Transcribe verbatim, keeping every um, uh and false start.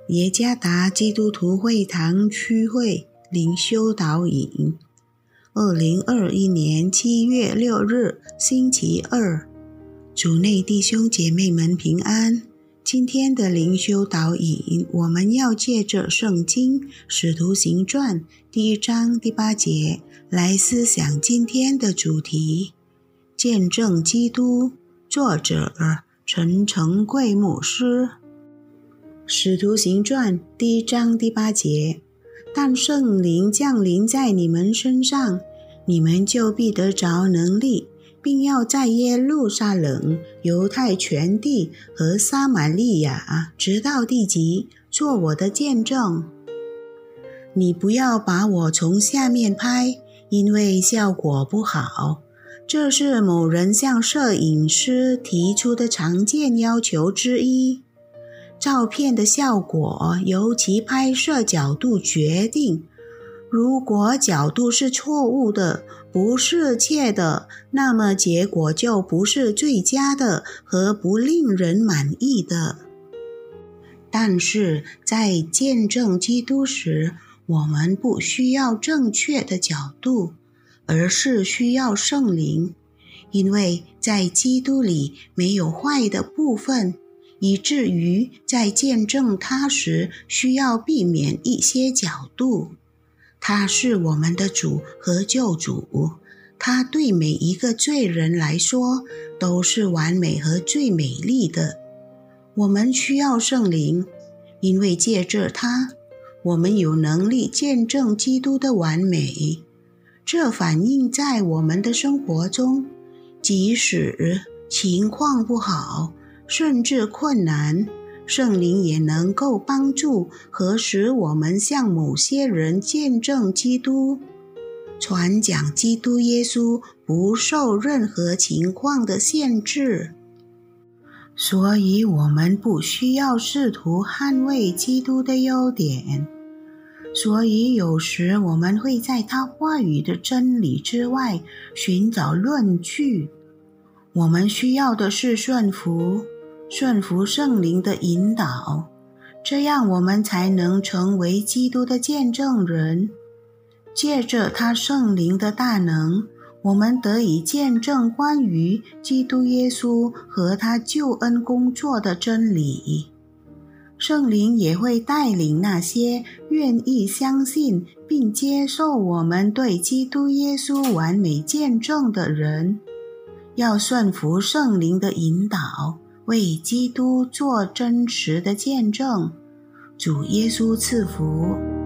耶加达基督徒会堂区会灵修导引，二零二一年七月六日星期二，主内弟兄姐妹们平安。今天的灵修导引，我们要借着圣经使徒行传第一章第八节来思想今天的主题，见证基督。作者陈成贵牧师。使徒行传第一章第八节，但圣灵降临在你们身上，你们就必得着能力，并要在耶路撒冷、犹太全地和撒玛利亚直到地极做我的见证。你不要把我从下面拍，因为效果不好。这是某人向摄影师提出的常见要求之一。照片的效果由其拍摄角度决定，如果角度是错误的、不适切的，那么结果就不是最佳的和不令人满意的。但是在见证基督时，我们不需要正确的角度，而是需要圣灵，因为在基督里没有坏的部分，以至于在见证他时需要避免一些角度。他是我们的主和救主，他对每一个罪人来说都是完美和最美丽的。我们需要圣灵，因为借着他，我们有能力见证基督的完美。这反映在我们的生活中，即使情况不好，甚至困难，圣灵也能够帮助和使我们向某些人见证基督。传讲基督耶稣不受任何情况的限制，所以我们不需要试图捍卫基督的优点。所以有时我们会在他话语的真理之外寻找论据。我们需要的是顺服，顺服圣灵的引导，这样我们才能成为基督的见证人。借着他圣灵的大能，我们得以见证关于基督耶稣和他救恩工作的真理。圣灵也会带领那些愿意相信并接受我们对基督耶稣完美见证的人，要顺服圣灵的引导，为基督做真实的见证。主耶稣赐福。